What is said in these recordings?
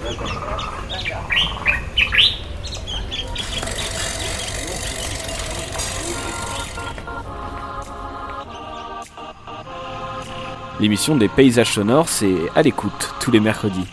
L'émission des paysages sonores, c'est à l'écoute tous les mercredis.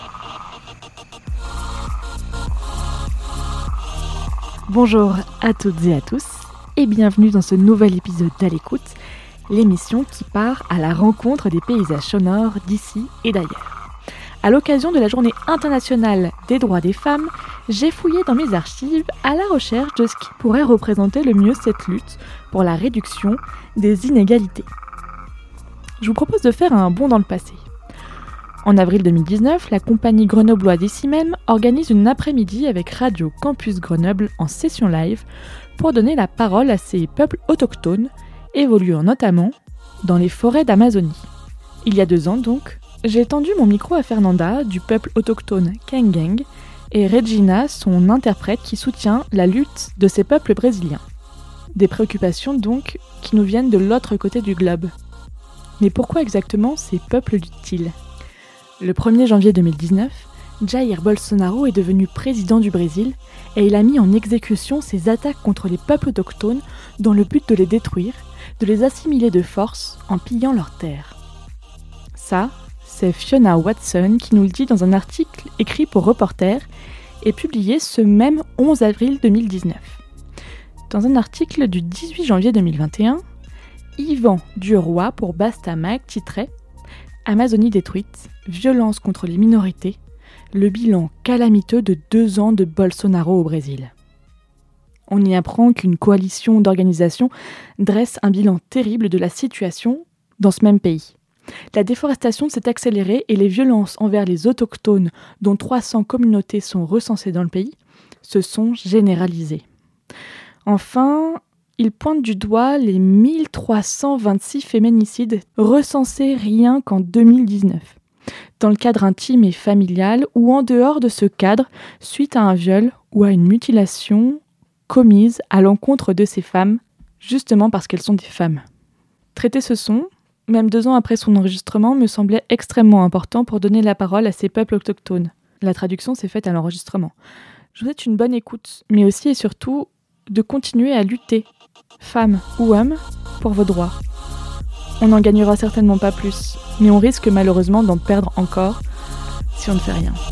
Bonjour à toutes et à tous et bienvenue dans ce nouvel épisode d'À l'écoute, l'émission qui part à la rencontre des paysages sonores d'ici et d'ailleurs. À l'occasion de la Journée internationale des droits des femmes, j'ai fouillé dans mes archives à la recherche de ce qui pourrait représenter le mieux cette lutte pour la réduction des inégalités. Je vous propose de faire un bond dans le passé. En avril 2019, la compagnie grenobloise ici même organise une après-midi avec Radio Campus Grenoble en session live pour donner la parole à ces peuples autochtones, évoluant notamment dans les forêts d'Amazonie. Il y a 2 ans donc, j'ai tendu mon micro à Fernanda du peuple autochtone Kangang et Regina, son interprète qui soutient la lutte de ces peuples brésiliens. Des préoccupations donc qui nous viennent de l'autre côté du globe. Mais pourquoi exactement ces peuples luttent-ils ? Le 1er janvier 2019, Jair Bolsonaro est devenu président du Brésil et il a mis en exécution ses attaques contre les peuples autochtones dans le but de les détruire, de les assimiler de force en pillant leurs terres. Ça, c'est Fiona Watson qui nous le dit dans un article écrit pour Reporter et publié ce même 11 avril 2019. Dans un article du 18 janvier 2021, Yvan Duroy pour Bastamag titrait « Amazonie détruite, violence contre les minorités, le bilan calamiteux de 2 ans de Bolsonaro au Brésil ». On y apprend qu'une coalition d'organisations dresse un bilan terrible de la situation dans ce même pays. La déforestation s'est accélérée et les violences envers les autochtones, dont 300 communautés sont recensées dans le pays, se sont généralisées. Enfin, il pointe du doigt les 1326 féminicides recensés rien qu'en 2019, dans le cadre intime et familial ou en dehors de ce cadre, suite à un viol ou à une mutilation commise à l'encontre de ces femmes, justement parce qu'elles sont des femmes. Traiter ce son, même 2 ans après son enregistrement, me semblait extrêmement important pour donner la parole à ces peuples autochtones. La traduction s'est faite à l'enregistrement. Je vous souhaite une bonne écoute, mais aussi et surtout de continuer à lutter, femmes ou hommes, pour vos droits. On n'en gagnera certainement pas plus, mais on risque malheureusement d'en perdre encore si on ne fait rien.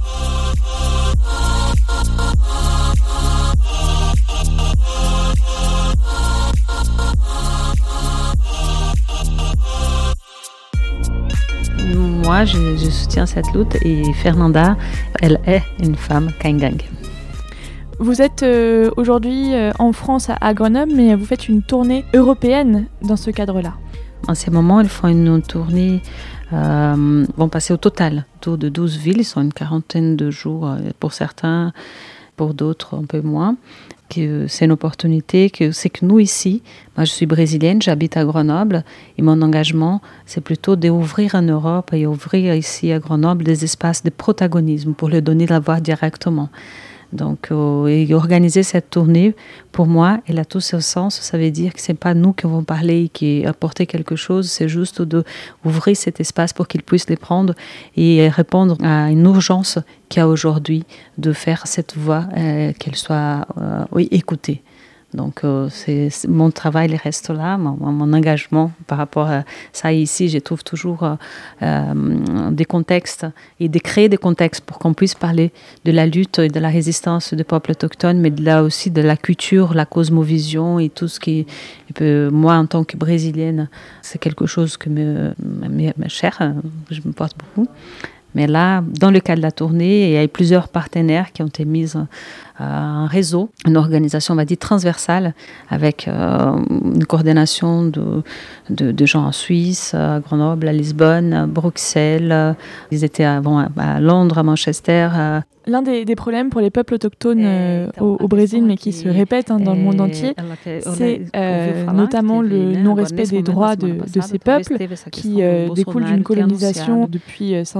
Moi, je soutiens cette lutte et Fernanda, elle est une femme Kangang. Vous êtes aujourd'hui en France à Grenoble, mais vous faites une tournée européenne dans ce cadre-là. En ce moment, ils font une tournée, vont passer au total autour de 12 villes, ils sont une 40aine de jours pour certains, pour d'autres un peu moins. Que c'est une opportunité, c'est que nous ici, moi je suis brésilienne, j'habite à Grenoble et mon engagement c'est plutôt d'ouvrir en Europe et ouvrir ici à Grenoble des espaces de protagonisme pour leur donner la voix directement. Donc, et organiser cette tournée, pour moi, elle a tout ce sens. Ça veut dire que ce n'est pas nous qui vont parler et qui apporter quelque chose, c'est juste d'ouvrir cet espace pour qu'ils puissent les prendre et répondre à une urgence qu'il y a aujourd'hui de faire cette voix, qu'elle soit écoutée. Donc, mon travail reste là, mon engagement par rapport à ça. Ici, je trouve toujours des contextes et de créer des contextes pour qu'on puisse parler de la lutte et de la résistance des peuples autochtones, mais là aussi de la culture, la cosmovision et tout ce qui peut, moi, en tant que Brésilienne, c'est quelque chose que me cher, je me porte beaucoup. Mais là, dans le cadre de la tournée, il y a plusieurs partenaires qui ont été mis un réseau, une organisation, on va dire, transversale, avec une coordination de gens en Suisse, à Grenoble, à Lisbonne, à Bruxelles. Ils étaient à Londres, à Manchester. L'un des problèmes pour les peuples autochtones au Brésil, mais qui se répètent dans le monde entier, c'est notamment le non-respect des droits de ces peuples qui découlent d'une colonisation depuis 500 ans.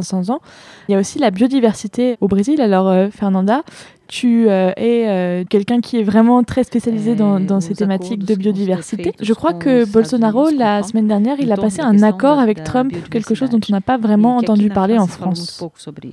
Il y a aussi la biodiversité au Brésil. Alors, Fernanda, tu es quelqu'un qui est vraiment très spécialisé dans ces thématiques de biodiversité. Je crois que Bolsonaro, la semaine dernière, il a passé un accord avec Trump, quelque chose dont on n'a pas vraiment entendu parler en France.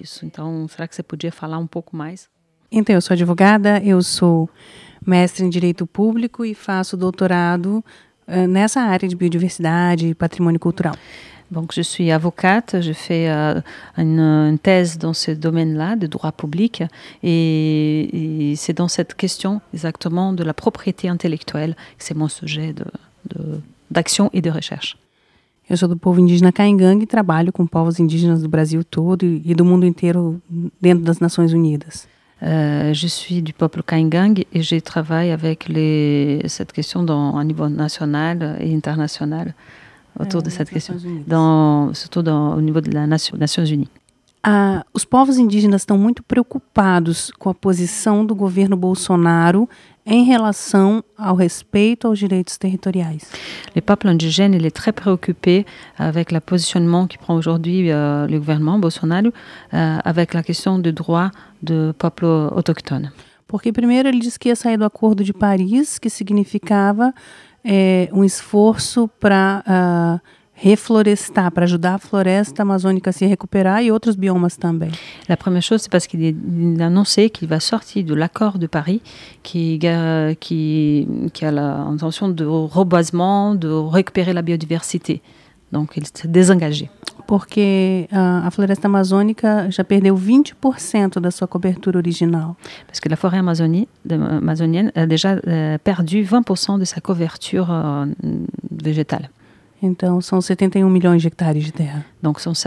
Então, eu sou advogada, eu sou mestre em Direito Público e faço doutorado nessa área de biodiversidade e patrimônio cultural. Donc, je suis avocate, je fais une thèse dans ce domaine-là, de droit public, et c'est dans cette question exactement de la propriété intellectuelle que c'est mon sujet d'action et de recherche. Eu sou do povo indígena Caingangue e trabalho com povos indígenas do Brasil todo e do mundo inteiro dentro das Nações Unidas. Je suis du peuple Caingangue et je travaille avec cette question à niveau national et international. Autour de cette question, surtout au niveau das Nações Unidas. Os povos indígenas estão muito preocupados com a posição do governo Bolsonaro em relação ao respeito aos direitos territoriais. Le peuple indigène, il est très préoccupé avec le positionnement qui prend aujourd'hui le gouvernement Bolsonaro avec la question du droit du peuple autochtone. Porque primeiro ele disse que ia sair do Acordo de Paris, que significava esforço para reflorestar, para ajudar a floresta amazônica a se recuperar e outros biomas também. La première chose, c'est parce qu'il a annoncé qu'il va sortir de l'accord de Paris qui a l'intention de reboisement, de récupérer la biodiversité. Donc, il s'est désengagé. Porque a floresta amazônica já perdeu 20% da sua cobertura original. Parce que la forêt amazonienne a déjà perdu 20% de sa couverture végétale. Então, são 71 milhões de hectares de terra. Donc, sont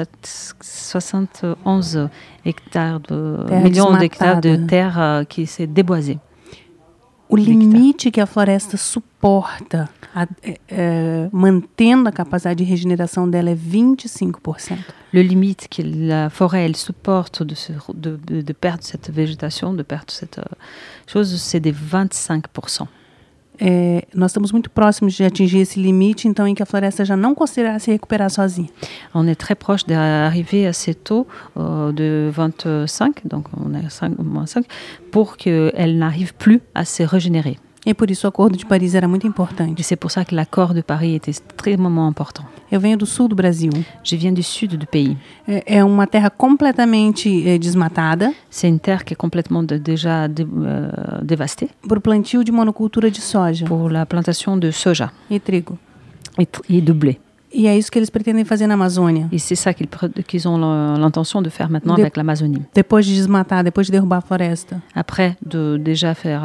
71 millions d'hectares de terre qui s'est déboisée. O limite que a floresta suporta, mantendo a capacidade de regeneração dela, é 25%. Le limite que la forêt elle supporte de perdre cette végétation, de perdre cette chose, c'est de 25%. Nós estamos muito próximos de atingir esse limite, então, em que a floresta já não conseguirá se recuperar sozinha. On est très proche d'arriver à ce taux de 25, donc on est moins 5, pour qu'elle n'arrive plus à se régénérer. E por isso o Acordo de Paris era muito importante. Et c'est pour ça que l'accord de Paris était extrêmement important. Eu venho do sul do Brasil. Je viens du sud du pays. É uma terra completamente desmatada. C'est une terre qui est complètement déjà dévastée. Pour o plantio de monocultura de soja. Pour la plantation de soja. E trigo. Et de blé. E é isso que eles pretendem fazer na Amazônia. Et c'est ça qu'ils ont l'intention de faire maintenant avec l'Amazonie. Depois de desmatar, depois de derrubar a floresta. Après de déjà faire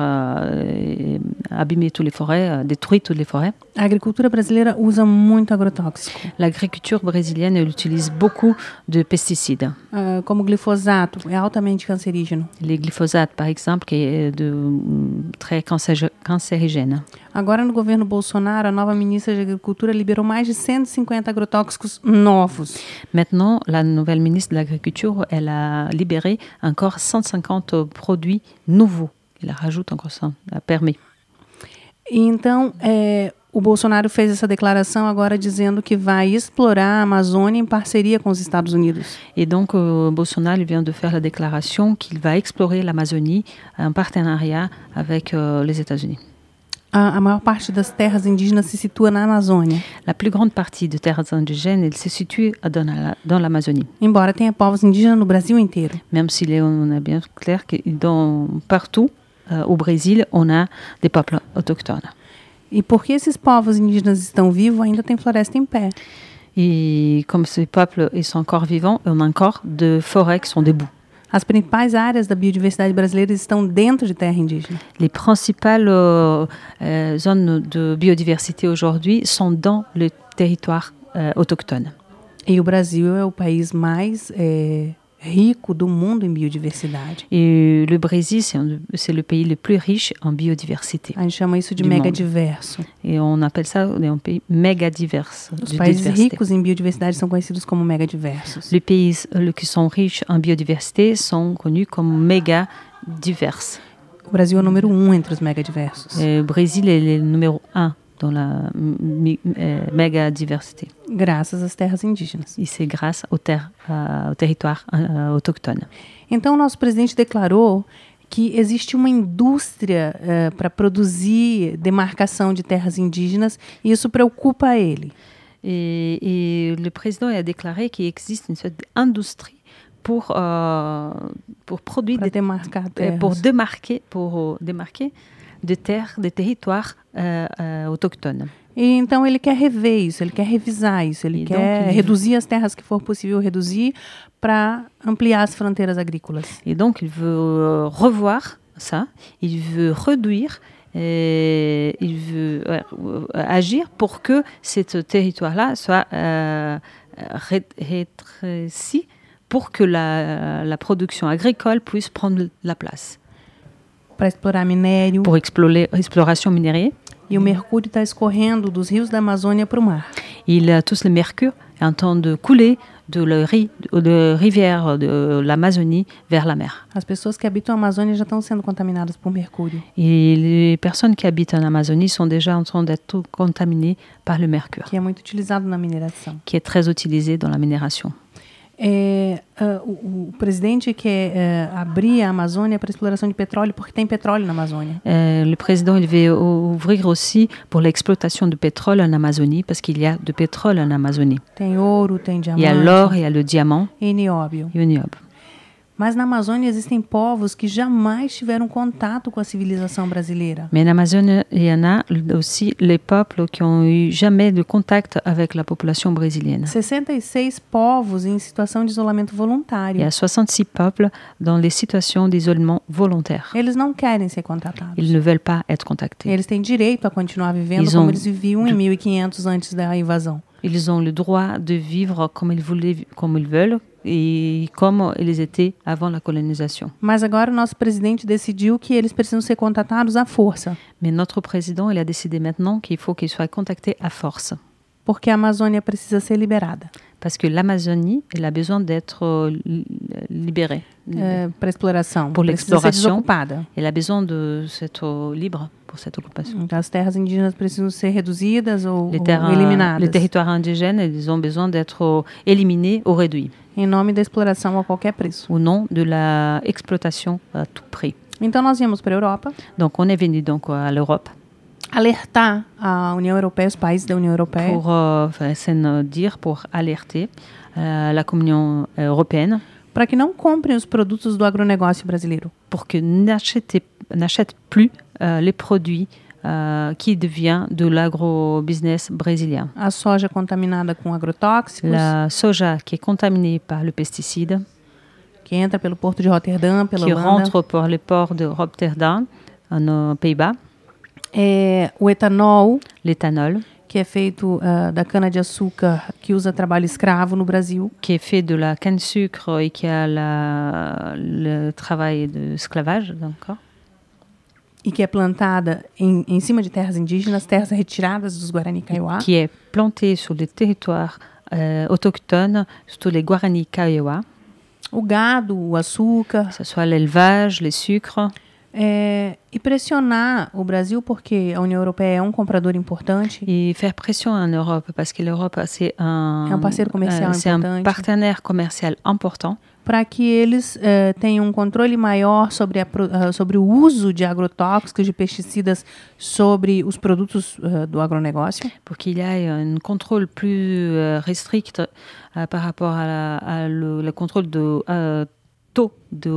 abîmer toutes les forêts, détruire toutes les forêts. A agricultura brasileira usa muito agrotóxico. L'agriculture brésilienne elle utilise beaucoup de pesticides. Como o glifosato, é altamente cancerígeno. Le glyphosate, par exemple, qui est très cancérigène. Agora, no governo Bolsonaro, a nova ministra de Agricultura liberou mais de 150 agrotóxicos novos. Maintenant, la nouvelle ministre de l'Agriculture, elle a libéré encore 150 produits nouveaux. Elle rajoute encore ça, elle permet. E então, o Bolsonaro fez essa declaração agora dizendo que vai explorar a Amazônia em parceria com os Estados Unidos. Et donc, Bolsonaro vient de faire la déclaration qu'il va explorer l'Amazonie en partenariat avec les États-Unis. A maior parte das terras indígenas se situa na Amazônia. La plus grande partie des terres indigènes, elle se situe dans l'Amazonie. Embora tenha povos indígenas no Brasil inteiro. Même si on est bien clair que partout au Brésil, on a des peuples autochtones. E porque esses povos indígenas estão vivos, ainda tem floresta em pé. Et comme ces peuples ils sont encore vivants, on a encore de forêts qui sont debout. As principais áreas da biodiversidade brasileira estão dentro de terra indígena. Les principales zones de biodiversité aujourd'hui sont dans le territoire autochtone. E o Brasil é o país mais rico do mundo em biodiversidade. Et le Brésil, c'est le pays le plus riche en biodiversité. A gente chama isso de megadiverso. Et on appelle ça un pays mégadivers. Os países ricos em biodiversidade são conhecidos como megadiversos. Les pays qui sont riches en biodiversité sont connus comme mégadivers. O Brasil é o número 1 entre os megadiversos. Le Brésil est le numéro 1 dans la méga diversité. graças às terras indígenas. Et c'est grâce aux territoires autochtones. Então, o nosso presidente declarou que existe uma indústria para produzir demarcação de terras indígenas e isso preocupa ele. Et le président a déclaré qu'il existe une sorte d'industrie pour produire Para demarcar terras. pour démarquer des territoires autochtones. E então ele quer rever isso, ele quer revisar isso, ele quer reduzir as terras que for possível reduzir para ampliar as fronteiras agrícolas. Et donc il veut revoir ça, il veut réduire, et il veut agir pour que ce territoire-là soit rétréci pour que la production agricole puisse prendre la place. Para explorar minério. Pour exploration minière. E o mercúrio está escorrendo dos rios da Amazônia para o mar. Il a tous le mercure en train de couler de rivière de l'Amazonie vers la mer. As pessoas que habitam a Amazônia já estão sendo contaminadas por mercúrio. Et les personnes qui habitent en Amazonie sont déjà en train d'être contaminées par le mercure. Que é muito utilizado na mineração. Qui est très utilisé dans la minération. O presidente quer abrir a Amazônia para exploração de petróleo porque tem petróleo na Amazônia. Le président il veut ouvrir aussi pour l'exploitation de pétrole en Amazonie parce qu'il y a de pétrole en Amazonie. Tem ouro, tem diamante. Il y a l'or, il y a le diamant e nióbio. Et le niobio. Mas na Amazônia existem povos que jamais tiveram contato com a civilização brasileira. Mais en Amazonie, il y en a aussi les peuples qui ont eu jamais de contact avec la population brésilienne. 66 povos em situação de isolamento voluntário. Il y a 66 peuples dans les situations d'isolement volontaire. Eles não querem ser contatados. Ils ne veulent pas être contactés. Eles têm direito a continuar vivendo como eles viviam em 1500 antes da invasão. Ils ont le droit de vivre comme ils veulent et comme ils étaient avant la colonisation. Mas agora o nosso presidente decidiu que eles precisam ser contatados à força. Mais notre président, il a décidé maintenant qu'il faut qu'ils soient contactés à force. Porque a Amazônia precisa ser liberada. Parce que l'Amazonie, elle a besoin d'être libérée. Para exploração. Pour l'exploration, elle a besoin d'être libre pour cette occupation. Então, as terras indígenas precisam ser reduzidas ou eliminadas. Les territoires indigènes, ils ont besoin d'être éliminés ou réduits. Em nome da exploração a qualquer preço. Au nom de la exploitation à tout prix. Então, nós viemos para a Europa. Donc, on est venu donc à l'Europe. Alertar a União Europeia, os países da União Europeia. Pour alerter la Communion européenne. Para que não comprem os produtos do agronegócio brasileiro. Pour que n'achètent plus les produits qui devient de l'agrobusiness brésilien. A soja contaminada com agrotóxicos. La soja qui est contaminée par le pesticide. Que entra pelo porto de Rotterdam, pela Holanda. Qui rentre par le port de Rotterdam, aux Pays-Bas. O etanol. L'éthanol. Que é feito da cana-de-açúcar, que usa trabalho escravo no Brasil. Qui est fait de la canne-sucre et qui a le travail d'esclavage, d'accord. E que é plantada em cima de terras indígenas, terras retiradas dos Guarani Kaiowá. Qui est plantée sur les territoires autochtones, surtout les Guarani Kaiowá. O gado, o açúcar. Que ce soit l'élevage, les sucres. E pressionar o Brasil, porque a União Europeia é um comprador importante. E faire pression en Europe, parce que l'Europe c'est un parceiro comercial importante. Un partenaire commercial important. Para que eles tenham um controle maior sobre o uso de agrotóxicos, de pesticidas, sobre os produtos do agronegócio. Pour qu'il y ait un contrôle plus restrict par rapport à le contrôle de taux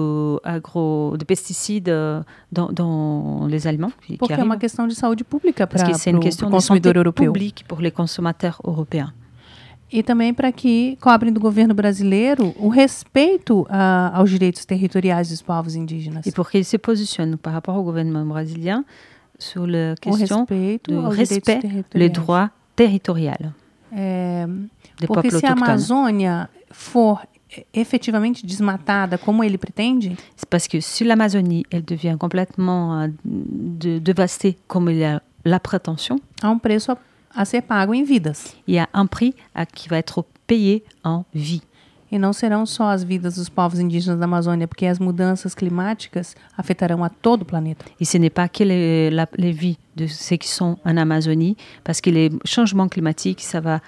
de pesticides dans les aliments. Porque é uma questão de saúde pública para o consumidor europeu. Publique pour les consommateurs européens. E também para que cobrem do governo brasileiro o respeito aos direitos territoriais dos povos indígenas. Et pour qu'il se positionne par rapport au gouvernement brésilien sur la question de respect les droits territoriaux des peuples autochtones. Porque se a Amazônia for efetivamente desmatada como ele pretende, c'est parce que si l'Amazonie elle devient complètement dévastée comme il y a la prétention, há um preço a ser pago em vidas. Il y a un prix qui va être payé en vie. E não serão só as vidas dos povos indígenas da Amazônia, porque as mudanças climáticas afetarão a todo o planeta. Et ce n'est pas que les vies de ceux qui sont en Amazonie, parce que les changements climatiques, ça va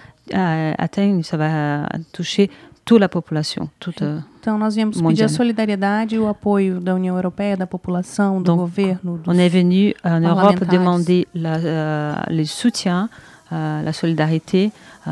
toucher toute la population, Então, nós viemos pedir a solidariedade e o apoio da União Europeia, da população, do governo. On est venu en Europe demander le soutien, la solidarité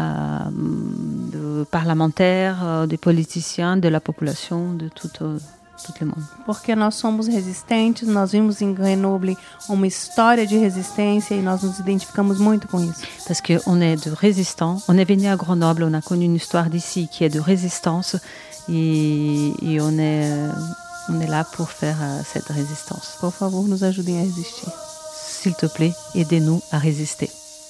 des parlementaires, des politiciens, de la population, de tout le monde. Porque nós somos resistentes, nós vimos em Grenoble uma história de resistência e nós nos identificamos muito com isso. Parce qu'on est de résistants, on est venu à Grenoble, on a connu une histoire d'ici qui est de résistance et on est là pour faire cette résistance. Por favor, nos ajudem a resistir. S'il te plaît, aidez-nous à résister.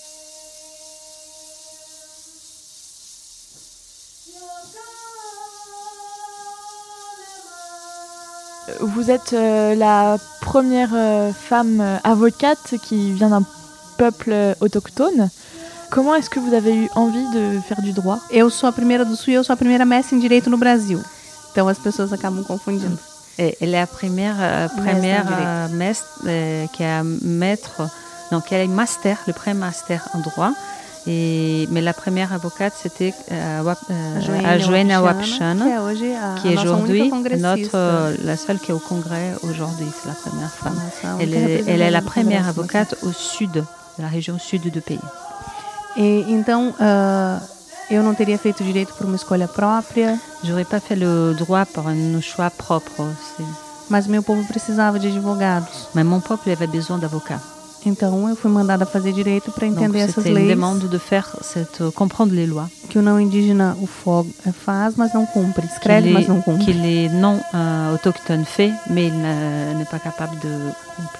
Vous êtes la première femme avocate qui vient d'un peuple autochtone. Comment est-ce que vous avez eu envie de faire du droit? Eu sou a primeira do Sul e eu sou a primeira mestre em Direito no Brasil. Então as pessoas acabam confundindo. Elle est la première mestre qui a maître, donc elle est master, le pré-master en droit. Mais la première avocate, c'était a Joênia Wapchana, qui est aujourd'hui la seule qui est au Congrès aujourd'hui. C'est la première femme. Elle est la première avocate au sud, de la région sud du pays. E então, eu não teria feito direito por uma escolha própria. J'aurais pas fait le droit par un choix propre. Mas meu povo precisava de advogados. Mais mon peuple avait besoin d'avocats. Então eu fui mandada fazer direito para entender essas leis. Une demande de faire comprendre les lois. Que o não indígena faz, mas não cumpre. Escreve, mas não cumpre. Que les non autochtones fait, mais il n'est pas capable de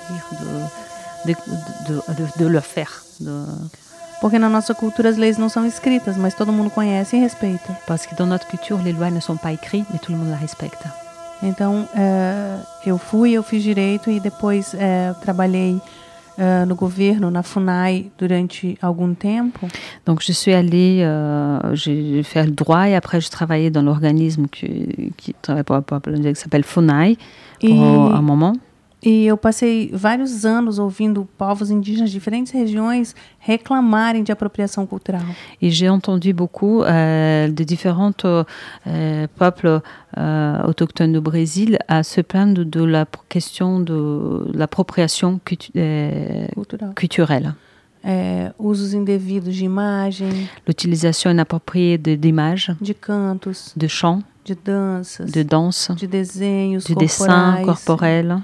cumprir, de le faire. Porque na nossa cultura as leis não são escritas, mas todo mundo conhece e respeita. Parce que dans notre culture les lois ne sont pas écrites, mais tout le monde la respecte. Então eu fiz direito e depois trabalhei no governo, na FUNAI, durante algum tempo. Donc je suis allée, j'ai fait le droit et après je travaillais dans l'organisme qui travaille pour qui s'appelle FUNAI pour un moment. E eu passei vários anos ouvindo povos indígenas de diferentes regiões reclamarem de apropriação cultural. Et j'ai entendu beaucoup de différents peuples autochtones du Brésil à se plaindre de la question de l'appropriation culturelle. Usos indevidos de imagem. L'utilisation inappropriée d'images. De cantos. De chants. De danças. De danse. De desenhos de dessins corporels.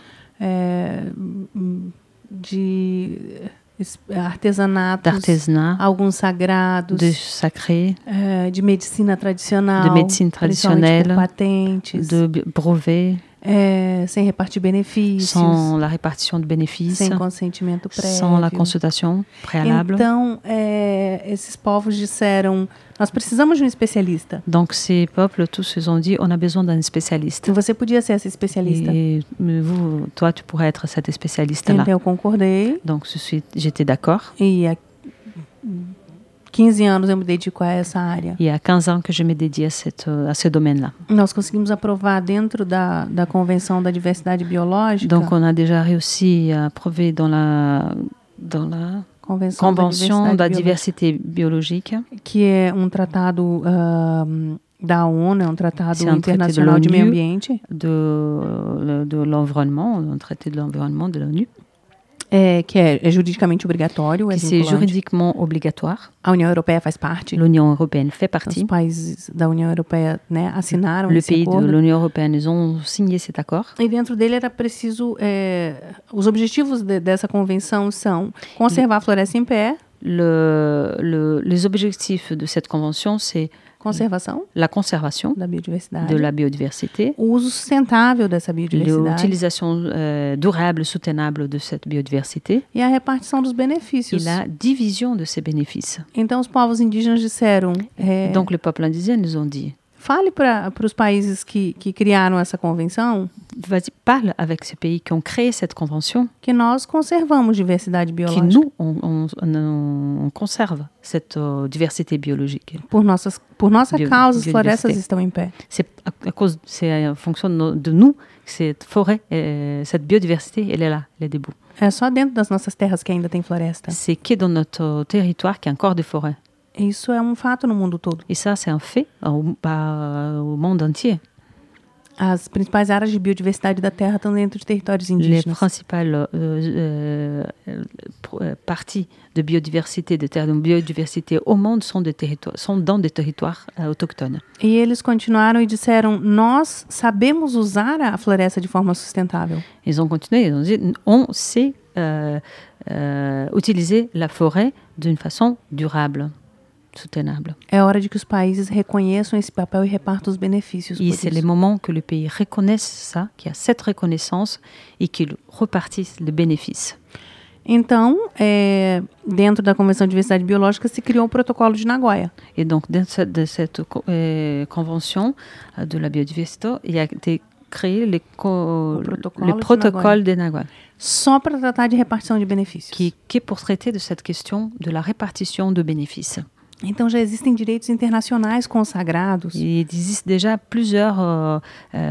De artesanatos, d'artisanat, alguns sagrados, de sacré, de medicina tradicional, de médecine traditionnelle, patentes, de brevets, sem repartir benefícios, sans la répartition de bénéfices, sem consentimento prévio, sans la consultation préalable. Então, esses povos disseram: nós precisamos de um especialista. Donc ces peuples tous se ont dit on a besoin d'un spécialiste. E você podia ser esse especialista. Et toi tu pourrais être cette spécialiste là. Então eu concordei. Donc j'étais d'accord. E há 15 anos eu me dedico a essa área. Il y a 15 ans que je me dédie à ce domaine-là. Nós conseguimos aprovar dentro da Convenção da Diversidade Biológica. Donc on a déjà réussi à approuver dans la Convention da Diversité Biologique, que é tratado da ONU, é tratado internacional de meio ambiente, de l'environnement, un traité de l'environnement de l'ONU. Que é juridicamente obrigatório, c'est juridiquement obrigatoire. A União Europeia faz parte. L'Union européenne fait partie. Os países da União Europeia, assinaram esse acordo. Les pays de l'Union européenne, ils ont signé cet accord. E dentro dele era preciso, os objetivos dessa convenção são conservar a floresta em pé. Les objectifs de cette convention, c'est la conservation de la biodiversité, o uso sustentável dessa biodiversidade, l'utilisation durable, soutenable de cette biodiversité, e a repartição dos benefícios, et la division de ces bénéfices. Então os povos indígenas disseram, donc les peuples indigènes nous ont dit, fale para os países que criaram essa convenção, parle avec ces pays qui ont créé cette convention, que nós conservamos diversidade que biológica. nous, on conserve cette diversité biologique. Por nossa causa, as biodiversité. florestas estão em pé. C'est en fonction de nous que cette forêt, cette biodiversité, elle est là, elle est debout. É só dentro das nossas terras que ainda tem floresta. C'est que dans notre territoire qu'il y a encore des forêts. Isso é um fato no mundo todo. Et ça, c'est un fait au monde entier. As principais áreas de biodiversidade da Terra estão dentro de territórios Les indígenas. principales parties de biodiversité, de terres de biodiversité au monde sont dans des territoires autochtones. E eles continuaram e disseram, nós sabemos usar a floresta de forma sustentável. Ils ont continué, ils ont dit, on sait utiliser la forêt d'une façon durable, soutenable. É hora de que os países reconheçam esse papel e repartam os benefícios. Et Por c'est isso. le moment que le pays reconnaisse ça, qu'il y a cette reconnaissance et qu'il repartisse le bénéfice. Então, dentro da Convenção de Diversidade Biológica, se criou o Protocolo de Nagoya. Et donc, dans cette convention de la biodiversité, il a été créé le protocole de Nagoya, Só para tratar de repartição de benefícios. qui est pour traiter de cette question de la répartition de bénéfices. Então, já existem direitos internacionais consagrados. Il existe déjà plusieurs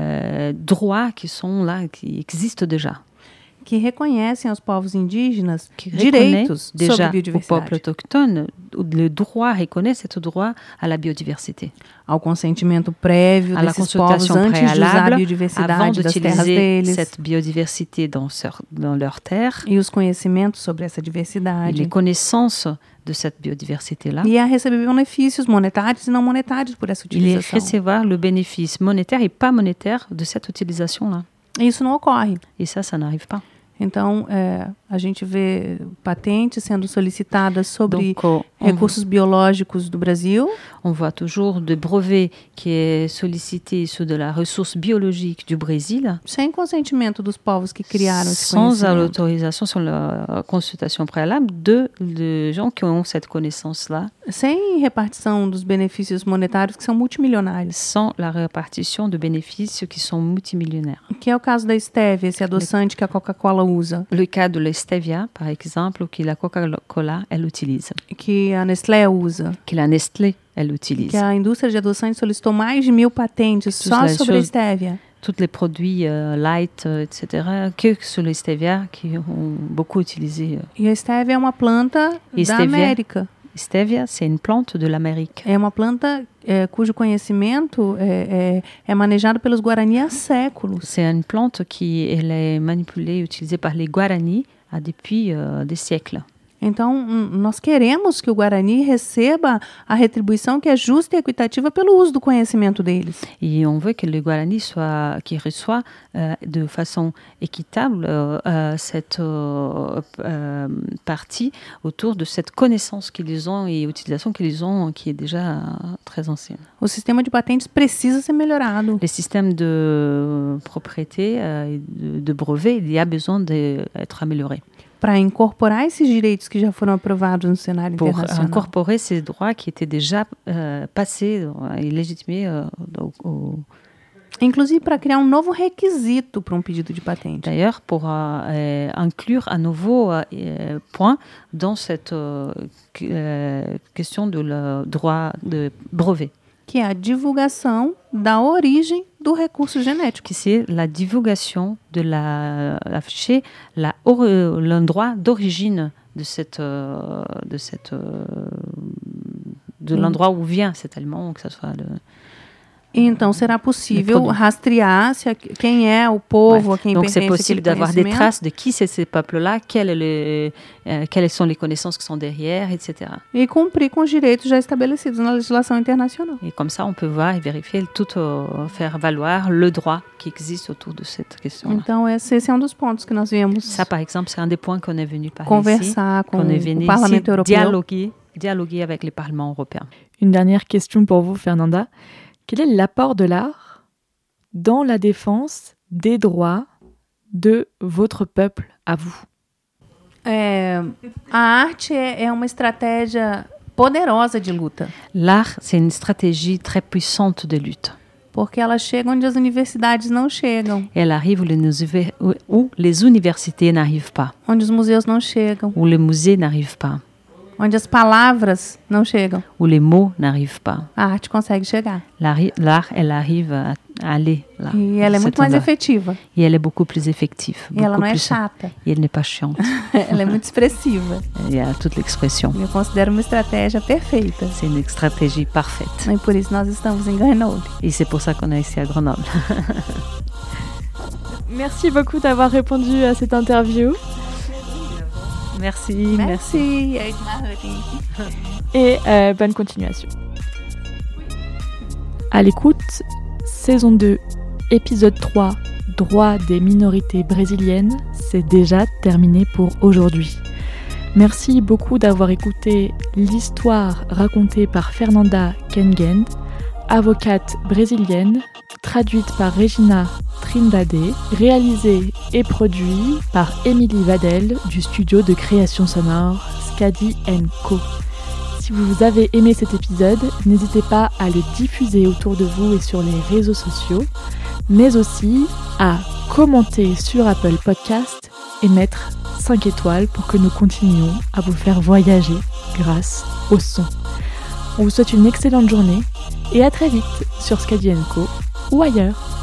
droits qui sont là, qui existent déjà. Que reconhecem aos povos indígenas Qui direitos reconnaît déjà sobre au peuple biodiversidade. autochtone le droit, reconnaît ce droit à la biodiversité. Ao consentimento prévio À la desses povos consultation antes de usar a préalable, avant biodiversidade das terras d'utiliser deles. cette biodiversité dans leurs terres, E os conhecimentos sobre essa et diversidade. les connaissances de cette biodiversité-là, E a receber benefícios monetários e não monetários por essa il est utilização. recevoir le bénéfice monétaire et pas monétaire de cette utilisation-là. E isso não ocorre. Et ça n'arrive pas. Então, a gente vê patentes sendo solicitadas sobre Donc, recursos biológicos do Brasil, on voit toujours des brevets qui est sollicité sur de la ressource biologique du Brésil, sem consentimento dos povos que criaram esse sans conhecimento. l'autorisation, sans la consultation préalable de gens qui ont cette connaissance-là, Sem repartição dos benefícios monetários que são multimilionários. sans la répartition de bénéfices qui sont multimillionnaires. Que é o caso da stevia, esse adoçante que a Coca-Cola usa, Le cas de la stevia, par exemple, que la Coca-Cola, elle utilise, que a Nestlé usa, que la Nestlé, elle utilise. que a indústria de adoçantes solicitou mais de 1.000 patentes só as sobre a choses- stevia. Tous les produits light, etc., que sur les stevia qui ont beaucoup utilisé. E a stevia é uma planta E da stevia? América. Stevia, c'est une plante de l'Amérique. É uma planta cujo conhecimento é manejado pelos Guarani há séculos. C'est une plante qui elle est manipulée, utilisée par les Guarani depuis des siècles. Então, nós queremos que o Guarani receba a retribuição que é justa e equitativa pelo uso do conhecimento deles. Et on veut que les Guarani qui reçoit de façon équitable cette partie autour de cette connaissance qu'ils ont et utilisation qu'ils ont qui est déjà très ancienne. O sistema de patentes precisa ser melhorado. Les systèmes de propriété et de brevet, il y a besoin d'être amélioré Para incorporar esses direitos que já foram aprovados no cenário pour internacional. incorporer ces droits qui étaient déjà passés et légitimés Inclusive para criar um novo requisito para um pedido de patente. D'ailleurs, pour inclure un nouveau point dans cette question de le droit de brevet, Que é a divulgação da origem do recurso genético. qui c'est la divulgation de afficher l'endroit d'origine de l'endroit où vient cet aliment, que ce soit Então, será possível produit. rastrear quem é o povo, a quem Donc c'est pertence possible aquele d'avoir des conhecimento. traces de qui c'est ces peuples-là, quelles sont les connaissances qui sont derrière, etc. E cumprir com os direitos já estabelecidos na legislação internacional. Et comme ça, on peut voir et vérifier faire valoir le droit qui existe autour de cette question-là. Então, esse é um dos pontos que nós viemos Ça, par exemple, c'est un des points qu'on est venu parler conversar ici, com qu'on est venu o Parlamento ici Europeu. dialoguer avec les parlements européens. Une dernière question pour vous, Fernanda. Quel est l'apport de l'art dans la défense des droits de votre peuple à vous? A arte é uma estratégia poderosa de luta. L'art, c'est une stratégie très puissante de lutte. Porque ela chega onde as universidades não chegam, Elle arrive où les universités n'arrivent pas, onde os museus não chegam, où les musées n'arrivent pas, onde as palavras não chegam. où les mots n'arrivent pas. A arte consegue chegar. L'art, elle arrive à aller là. E ela é muito mais efetiva. Et elle est beaucoup plus effective. E ela beaucoup não é plus- chata. Et elle n'est pas chiante. Ela é muito expressiva. Il y a toute l'expression. Eu considero uma estratégia perfeita. C'est une stratégie parfaite. E por isso nós estamos em Grenoble. Et c'est pour ça qu'on est ici à Grenoble. Merci beaucoup d'avoir répondu à cette interview Merci. Merci. Edna. et bonne continuation. À l'écoute, saison 2, épisode 3, droit des minorités brésiliennes, c'est déjà terminé pour aujourd'hui. Merci beaucoup d'avoir écouté l'histoire racontée par Fernanda Kengen, avocate brésilienne, traduite par Regina Trindade, réalisée et produit par Émilie Vadel du studio de création sonore Skadi & Co. Si vous avez aimé cet épisode, n'hésitez pas à le diffuser autour de vous et sur les réseaux sociaux, mais aussi à commenter sur Apple Podcast et mettre 5 étoiles pour que nous continuions à vous faire voyager grâce au son. On vous souhaite une excellente journée et à très vite sur Skadi & Co ou ailleurs.